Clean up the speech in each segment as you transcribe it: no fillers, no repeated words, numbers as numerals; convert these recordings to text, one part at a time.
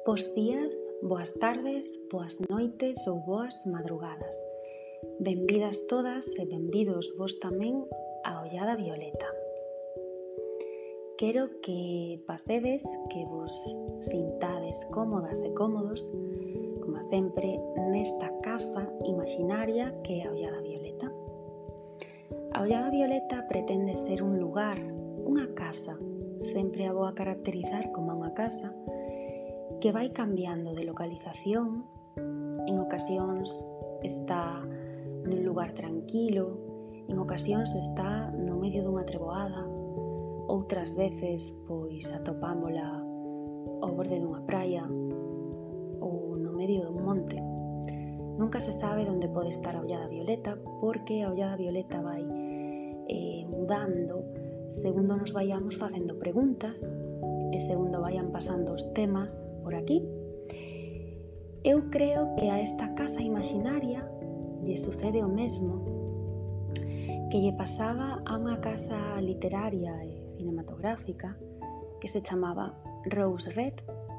Bos días, boas tardes, boas noites ou boas madrugadas. Benvidas todas e benvidos vos tamén a Ollada Violeta. Quero que pasedes, que vos sintades cómodas e cómodos, como sempre, nesta casa imaginaria que é a Ollada Violeta. A Ollada Violeta pretende ser un lugar, unha casa, sempre a vou a caracterizar como unha casa, que vai cambiando de localización. En ocasións está nun lugar tranquilo, en ocasións está no medio dunha treboada, outras veces pois atopámola ao borde dunha praia ou no medio dun monte. Nunca se sabe onde pode estar a Ollada Violeta, porque a Ollada Violeta vai mudando segundo nos vayamos facendo preguntas e segundo vayan pasando os temas por aquí. Eu creo que a esta casa imaginaria lle sucede o mesmo que lle pasaba a unha casa literaria e cinematográfica que se chamaba Rose Red.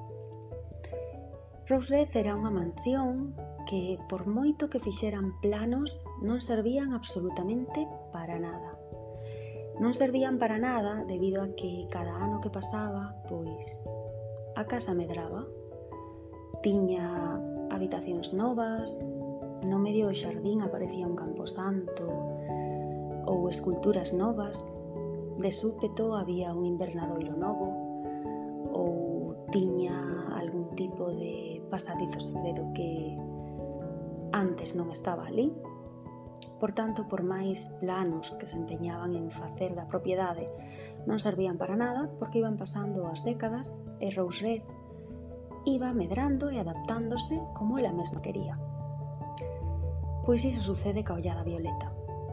Rose Red era unha mansión que, por moito que fixeran planos, non servían absolutamente para nada. Non servían para nada debido a que cada ano que pasaba, pois, a casa medraba. Tiña habitacións novas, no medio do xardín aparecía un camposanto ou esculturas novas, de súpeto había un invernadoiro novo ou tiña algún tipo de pasadizo secreto que antes non estaba ali. Por tanto, por máis planos que se empeñaban en facer da propiedade, non servían para nada porque iban pasando as décadas e Rose Red iba medrando e adaptándose como ela mesma quería. Pois iso sucede ca Ollada Violeta.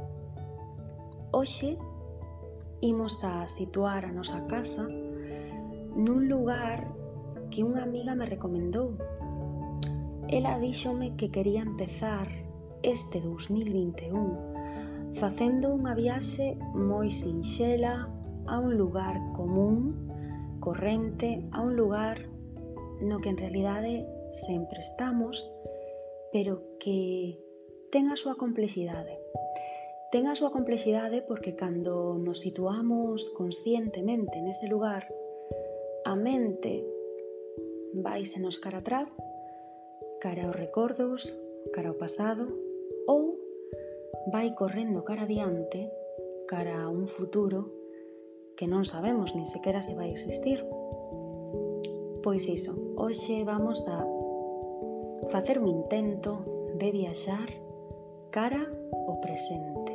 Hoxe imos a situar a nosa casa nun lugar que unha amiga me recomendou. Ela díxome que quería empezar este 2021 facendo unha viaxe moi sinxela a un lugar común, corrente, a un lugar no que en realidade sempre estamos, pero que ten a súa complexidade. Ten a súa complexidade porque cando nos situamos conscientemente nese lugar, a mente váisenos cara atrás, cara aos recordos, cara ao pasado, ou vai correndo cara adiante, cara a un futuro que non sabemos nin sequera se vai existir. Pois iso, hoxe vamos a facer un intento de viaxar cara ao presente.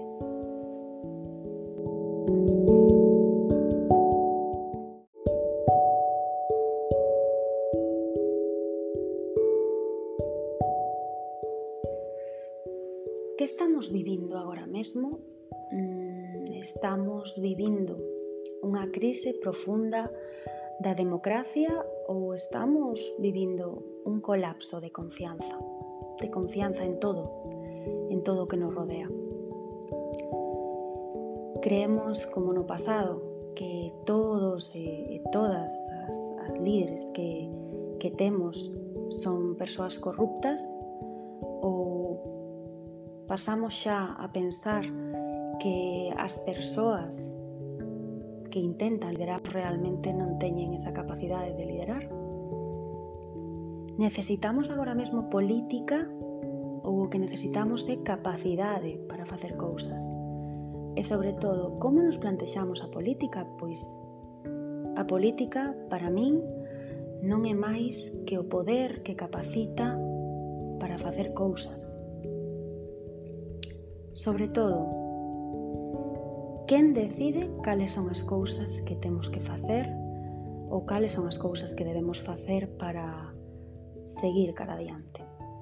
Que estamos vivindo agora mesmo? Estamos vivindo unha crise profunda da democracia ou estamos vivindo un colapso de confianza en todo o que nos rodea. Creemos, como no pasado, que todos e todas as líderes que temos son persoas corruptas, ou pasamos xa a pensar que as persoas que intentan liderar realmente non teñen esa capacidade de liderar? Necesitamos agora mesmo política ou o que necesitamos é capacidade para facer cousas? E sobre todo, como nos plantexamos a política? Pois a política, para min, non é máis que o poder que capacita para facer cousas. Sobre todo, quen decide cales son as cousas que temos que facer ou cales son as cousas que debemos facer para seguir cara adiante.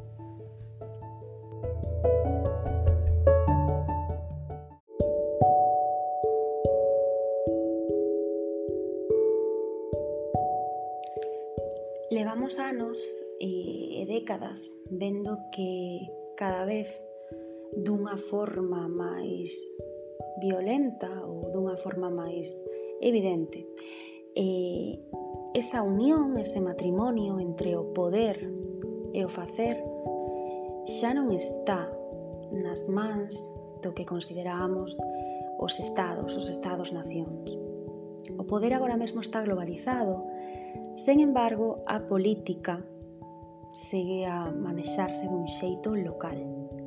Levamos anos e décadas vendo que cada vez dunha forma máis violenta ou dunha forma máis evidente esa unión, ese matrimonio entre o poder e o facer xa non está nas mans do que consideramos os estados-nacións. O poder agora mesmo está globalizado, sen embargo, a política segue a manexarse dun xeito local.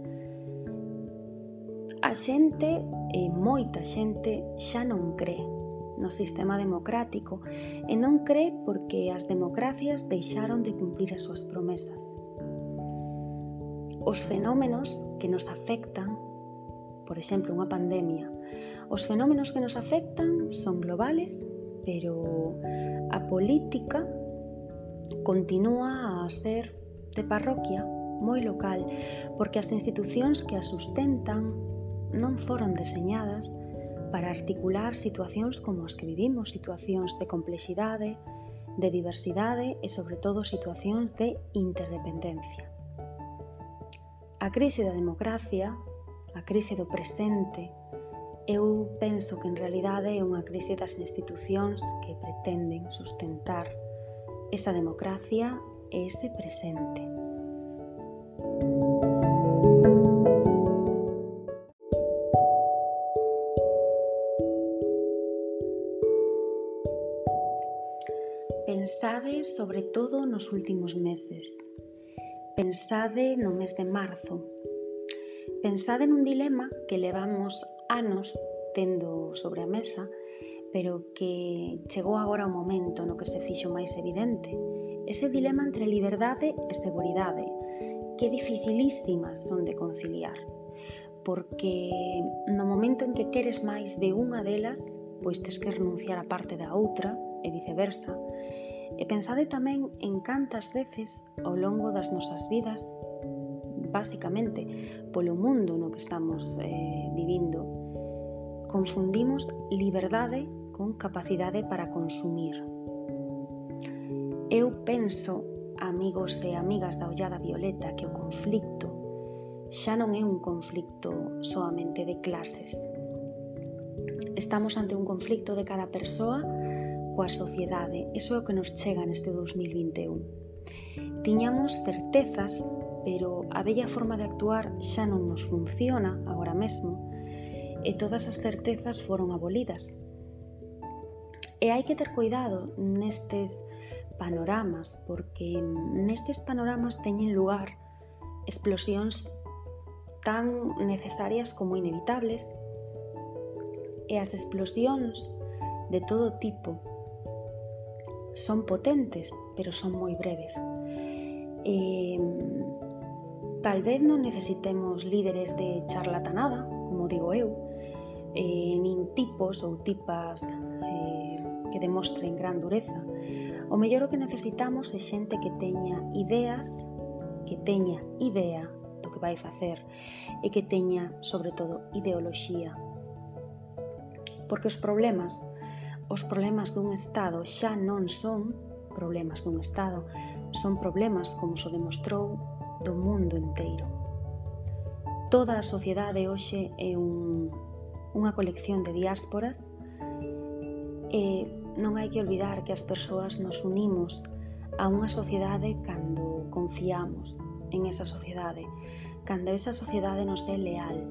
A xente, e moita xente, xa non cree no sistema democrático e non cree porque as democracias deixaron de cumprir as súas promesas. Os fenómenos que nos afectan, por exemplo, unha pandemia, os fenómenos que nos afectan son globales, pero a política continúa a ser de parroquia moi local, porque as institucións que a sustentan non foron deseñadas para articular situacións como as que vivimos, situacións de complexidade, de diversidade e, sobre todo, situacións de interdependencia. A crise da democracia, a crise do presente, eu penso que en realidade é unha crise das institucións que pretenden sustentar esa democracia e ese presente. Pensade sobre todo nos últimos meses. Pensade no mes de marzo. Pensade nun dilema que levamos anos tendo sobre a mesa, pero que chegou agora o momento no que se fixo máis evidente. Ese dilema entre liberdade e seguridade, que dificilísimas son de conciliar, porque no momento en que queres máis de unha delas, pois tes que renunciar a parte da outra, e viceversa. E pensade tamén en cantas veces ao longo das nosas vidas, basicamente polo mundo no que estamos vivindo, confundimos liberdade con capacidade para consumir. Eu penso, amigos e amigas da Ollada Violeta, que o conflicto xa non é un conflicto soamente de clases. Estamos ante un conflicto de cada persoa coa sociedade. Iso é o que nos chega neste 2021. Tiñamos certezas, pero a bella forma de actuar xa non nos funciona agora mesmo e todas as certezas foron abolidas. E hai que ter cuidado nestes panoramas, porque nestes panoramas teñen lugar explosións tan necesarias como inevitables, e as explosións de todo tipo son potentes, pero son moi breves. Tal vez non necesitemos líderes de charlatanada, como digo eu, nin tipos ou tipas que demostren gran dureza. O mellor o que necesitamos é xente que teña ideas, que teña idea do que vai facer e que teña, sobre todo, ideoloxía. Porque os problemas dun Estado xa non son problemas dun Estado, son problemas, como se demostrou, do mundo inteiro. Toda a sociedade hoxe é unha colección de diásporas e non hai que olvidar que as persoas nos unimos a unha sociedade cando confiamos en esa sociedade, cando esa sociedade nos é leal.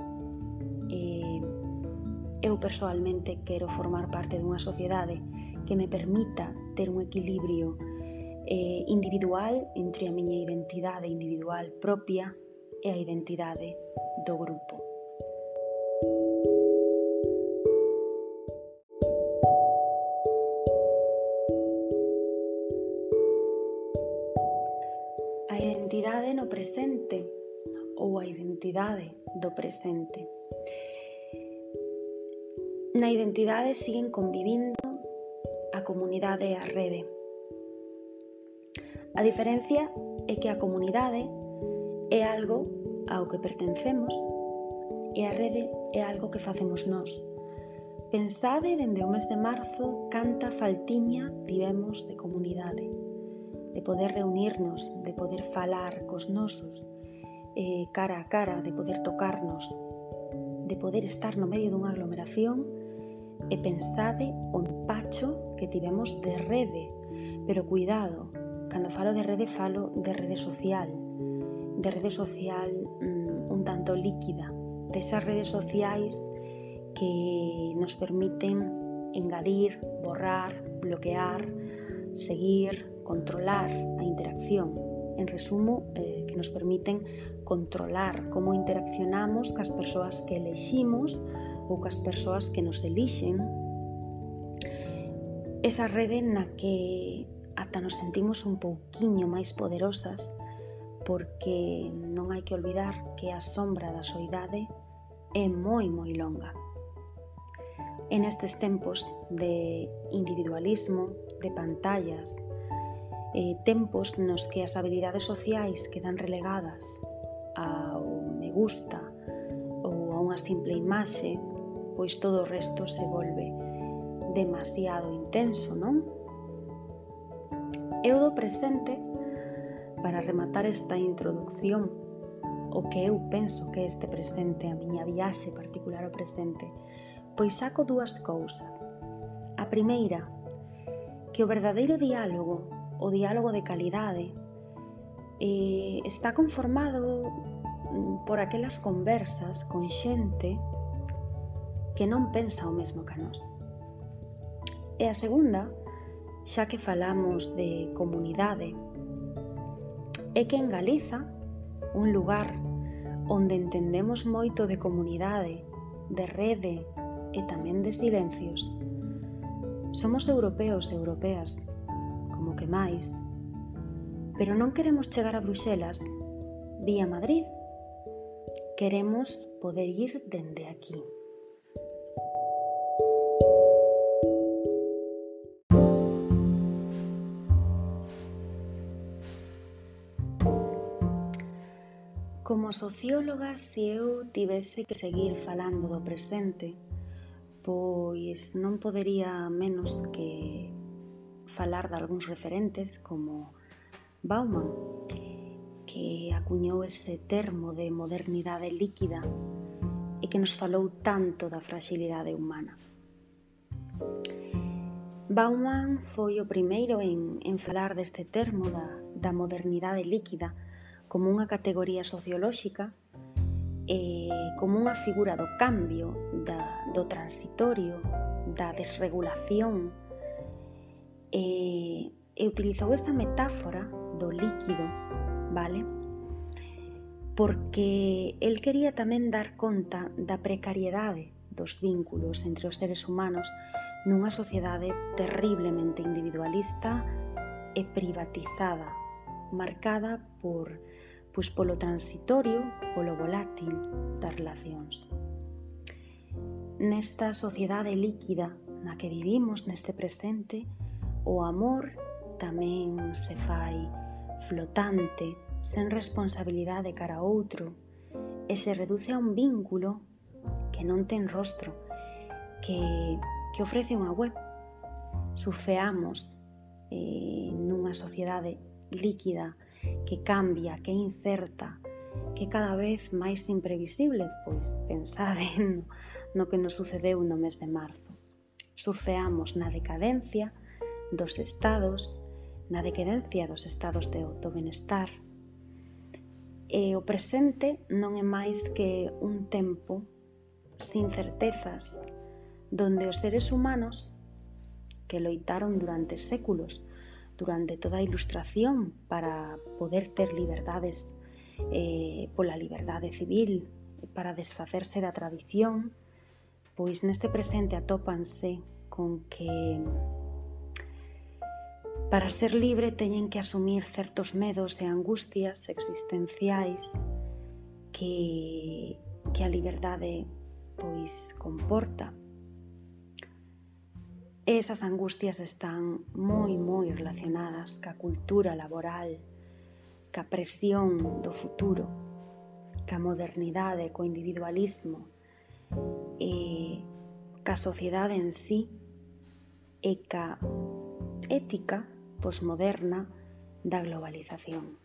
Eu persoalmente quero formar parte dunha sociedade que me permita ter un equilibrio individual entre a miña identidade individual propia e a identidade do grupo. A identidade no presente ou a identidade do presente. Na identidade siguen convivindo a comunidade e a rede. A diferencia é que a comunidade é algo ao que pertencemos e a rede é algo que facemos nós. Pensade dende o mes de marzo canta faltiña tivemos de comunidade, de poder reunirnos, de poder falar cos nosos cara a cara, de poder tocarnos, de poder estar no medio dunha aglomeración. E pensade o empacho que tivemos de rede, Pero cuidado, cando falo de rede social un tanto líquida, desas redes sociais que nos permiten engadir, borrar, bloquear, seguir, controlar a interacción. En resumo, que nos permiten controlar como interaccionamos cas persoas que eleximos ou cas persoas que nos elixen. Esa rede na que ata nos sentimos un pouquiño máis poderosas, porque non hai que olvidar que a sombra da soidade é moi longa. En estes tempos de individualismo, de pantallas, tempos nos que as habilidades sociais quedan relegadas ao me gusta ou a unha simple imaxe, pois todo o resto se volve demasiado intenso, non? Eu do presente, para rematar esta introducción, o que eu penso que este presente, a miña viaxe particular ao presente, pois saco dúas cousas. A primeira, que o verdadeiro diálogo, o diálogo de calidade, está conformado por aquelas conversas con xente que non pensa o mesmo que a nós. E a segunda, xa que falamos de comunidade, é que en Galiza, un lugar onde entendemos moito de comunidade, de rede e tamén de silencios, somos europeos e europeas, como que máis, pero non queremos chegar a Bruxelas vía Madrid, queremos poder ir dende aquí. Como socióloga, se eu tivese que seguir falando do presente, pois non podería menos que falar de algúns referentes como Bauman, que acuñou ese termo de modernidade líquida e que nos falou tanto da fragilidade humana. Bauman foi o primeiro en falar deste termo da modernidade líquida como unha categoría sociolóxica e como unha figura do cambio, do transitorio, da desregulación, e utilizou esa metáfora do líquido, vale? Porque el quería tamén dar conta da precariedade dos vínculos entre os seres humanos nunha sociedade terriblemente individualista e privatizada, marcada polo transitorio, polo volátil das relacións. Nesta sociedade líquida na que vivimos neste presente, o amor tamén se fai flotante, sen responsabilidade cara a outro, e se reduce a un vínculo que non ten rostro, que ofrece unha web. Surfeamos nunha sociedade líquida que cambia, que é incerta, que cada vez máis imprevisible, pois pensade no que nos sucedeu no mes de marzo. Surfeamos na decadencia dos estados, do benestar, e o presente non é máis que un tempo sin certezas, donde os seres humanos que loitaron durante séculos, durante toda a Ilustración para poder ter liberdades pola liberdade civil, para desfacerse da tradición, pois neste presente atópanse con que para ser libre teñen que asumir certos medos e angustias existenciais que a liberdade pois comporta. Esas angustias están moi relacionadas ca cultura laboral, ca presión do futuro, ca modernidade, co individualismo e ca sociedade en sí e ca ética posmoderna da globalización.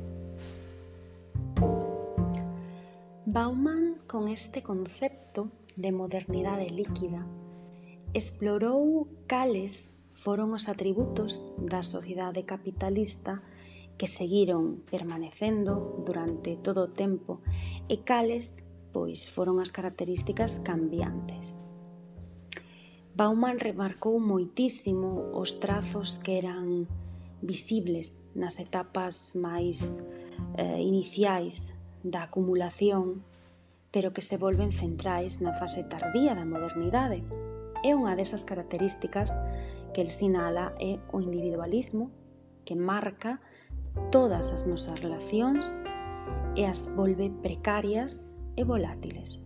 Bauman, con este concepto, de modernidade líquida, explorou cales foron os atributos da sociedade capitalista que seguiron permanecendo durante todo o tempo e cales pois foron as características cambiantes. Bauman remarcou moitísimo os trazos que eran visibles nas etapas máis iniciais da acumulación, pero que se volven centrais na fase tardía da modernidade. E unha desas características que el sinala é o individualismo, que marca todas as nosas relacións e as volve precarias e volátiles.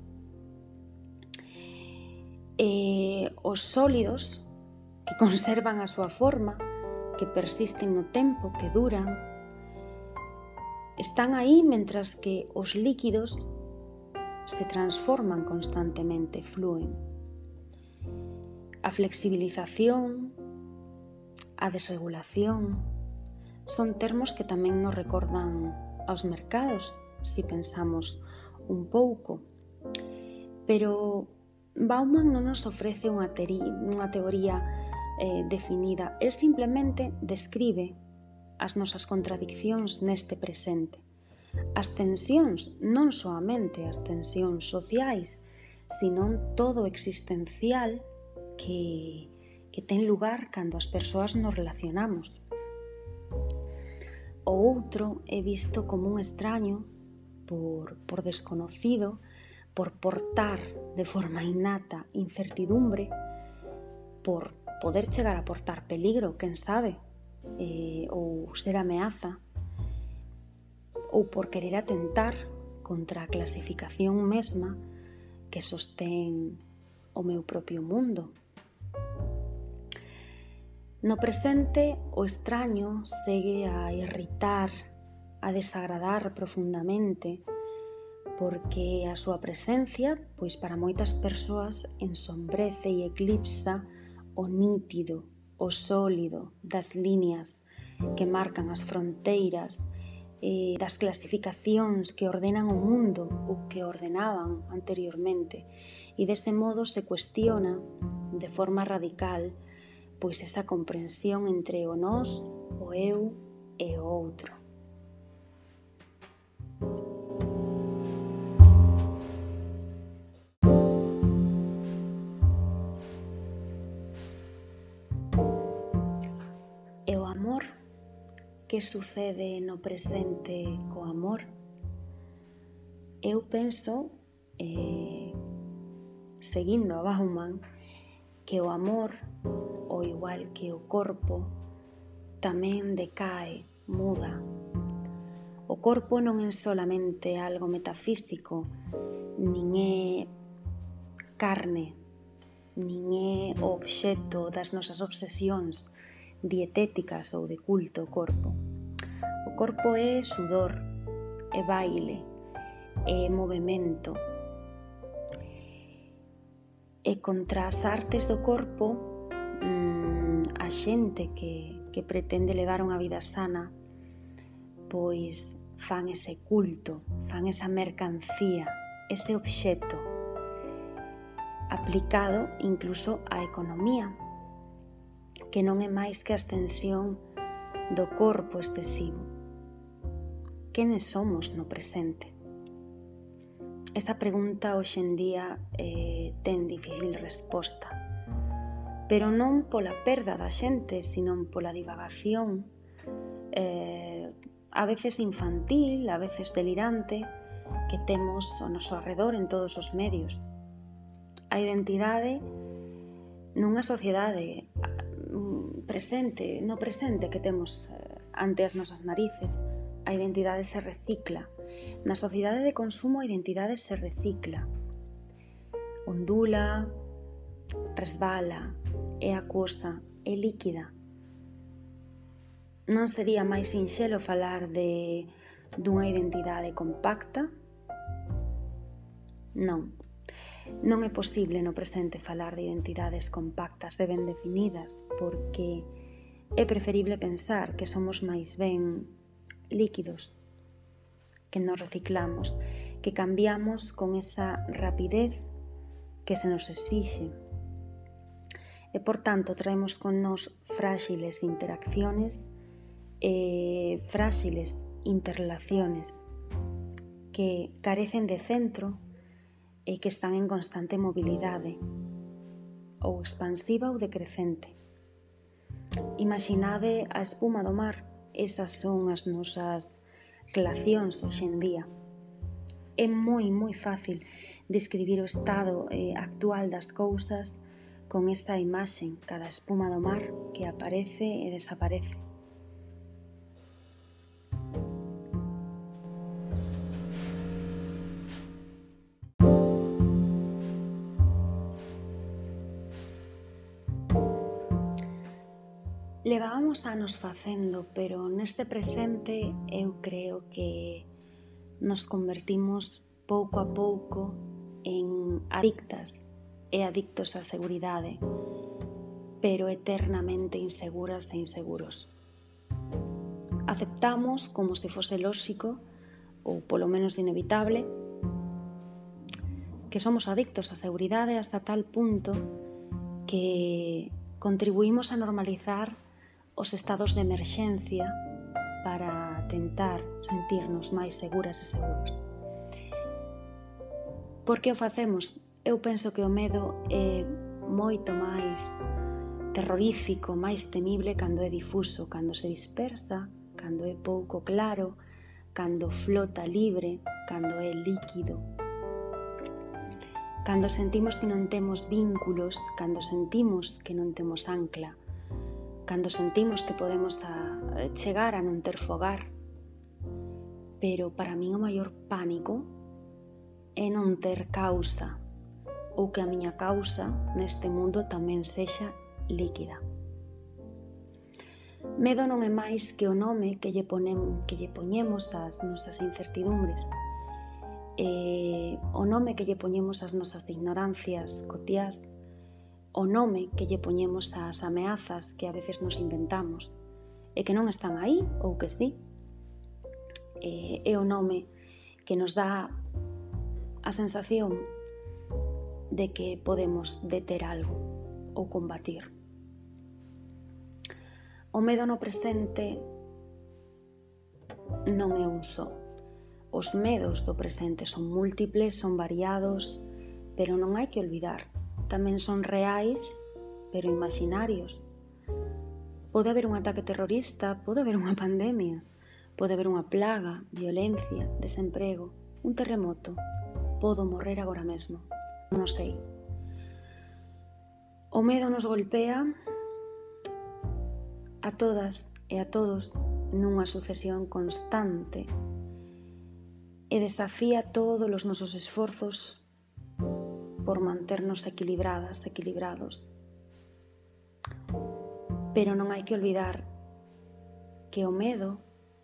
Os sólidos, que conservan a súa forma, que persisten no tempo, que duran, están aí mentras que os líquidos se transforman constantemente, flúen. A flexibilización, a desregulación, son termos que tamén nos recordan aos mercados, se pensamos un pouco. Pero Bauman non nos ofrece unha teoría definida, el simplemente describe as nosas contradiccións neste presente. As tensións, non soamente as tensións sociais, senón todo existencial que ten lugar cando as persoas nos relacionamos. O outro é visto como un extraño por desconocido, por portar de forma innata incertidumbre, por poder chegar a portar peligro, quen sabe, ou ser ameaza, ou por querer atentar contra a clasificación mesma que sostén o meu propio mundo. No presente, o extraño segue a irritar, a desagradar profundamente, porque a súa presencia, pois para moitas persoas, ensombrece e eclipsa o nítido, o sólido das líneas que marcan as fronteiras, das clasificacións que ordenan o mundo ou que ordenaban anteriormente, e dese modo se cuestiona de forma radical pois esa comprensión entre o nós, o eu e o outro. E o amor? Que sucede no presente co amor? Eu penso, seguindo a Bauman, que o amor, ao igual que o corpo, tamén decae, muda. O corpo non é solamente algo metafísico, nin é carne, nin é o obxecto das nosas obsesións dietéticas ou de culto ao corpo. O corpo é sudor, é baile, é movemento. E contra as artes do corpo, a xente que pretende levar unha vida sana, pois fan ese culto, fan esa mercancía, ese obxecto, aplicado incluso á economía, que non é máis que a extensión do corpo excesivo. Quenes somos no presente? Esa pregunta hoxe en día ten difícil resposta, pero non pola perda da xente, sino pola divagación, a veces infantil, a veces delirante, que temos ao noso arredor en todos os medios. A identidade nunha sociedade no presente que temos ante as nosas narices, a identidade se recicla. Na sociedade de consumo a identidade se recicla, ondula, resbala, é acuosa, é líquida. Non sería máis sinxelo falar dunha identidade compacta? Non. Non é posible no presente falar de identidades compactas e ben definidas, porque é preferible pensar que somos máis ben líquidos, que nos reciclamos, que cambiamos con esa rapidez que se nos exixe. E, por tanto, traemos con nós frágiles interacciones e frágiles interrelaciones que carecen de centro e que están en constante mobilidade, ou expansiva ou decrecente. Imaginade a espuma do mar, esas son as nosas relacións hoxe en día. É moi fácil describir o estado actual das cousas con esa imaxe, cada espuma do mar que aparece e desaparece. Levábamos anos facendo, pero neste presente eu creo que nos convertimos pouco a pouco en adictas e adictos á seguridade, pero eternamente inseguras e inseguros. Aceptamos como se fose lóxico, ou polo menos inevitable, que somos adictos á seguridade hasta tal punto que contribuímos a normalizar os estados de emerxencia para tentar sentirnos máis seguras e seguros. Por que o facemos? Eu penso que o medo é moito máis terrorífico, máis temible cando é difuso, cando se dispersa, cando é pouco claro, cando flota libre, cando é líquido. Cando sentimos que non temos vínculos, cando sentimos que non temos ancla, cando sentimos que podemos chegar a non ter fogar. Pero para min o maior pánico é non ter causa, ou que a miña causa neste mundo tamén sexa líquida. Medo non é máis que o nome que lle poñemos ás nosas incertidumbres, o nome que lle poñemos ás nosas ignorancias cotiás, o nome que lle poñemos ás ameazas que a veces nos inventamos e que non están aí ou que sí. É o nome que nos dá a sensación de que podemos deter algo ou combatir. O medo no presente non é un só. Os medos do presente son múltiples, son variados, pero non hai que olvidar. Tamén son reais, pero imaginarios. Pode haber un ataque terrorista, pode haber unha pandemia, pode haber unha plaga, violencia, desemprego, un terremoto. Podo morrer agora mesmo. Non sei. O medo nos golpea a todas e a todos nunha sucesión constante e desafía todos os nosos esforzos por manternos equilibradas, equilibrados. Pero non hai que olvidar que o medo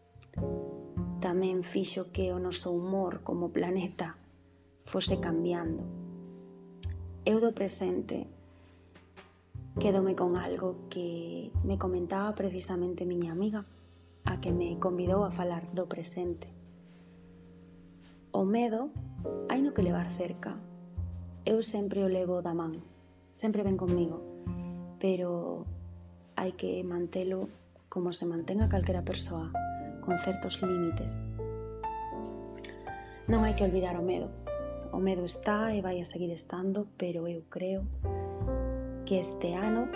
tamén fixo que o noso humor como planeta fose cambiando. Eu do presente quédome con algo que me comentaba precisamente miña amiga, a que me convidou a falar do presente. O medo hai no que levar cerca. Eu sempre o levo da man, sempre ven comigo, pero hai que mantelo como se mantén a calquera persoa, con certos límites. Non hai que olvidar o medo. O medo está e vai a seguir estando, pero eu creo que este ano,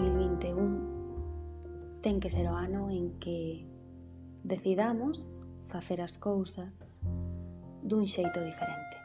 2021, ten que ser o ano en que decidamos facer as cousas dun xeito diferente.